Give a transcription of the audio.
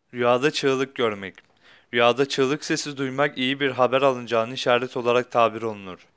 Rüyada çığlık görmek. Rüyada çığlık sesi duymak iyi bir haber alınacağını işaret olarak tabir olunur.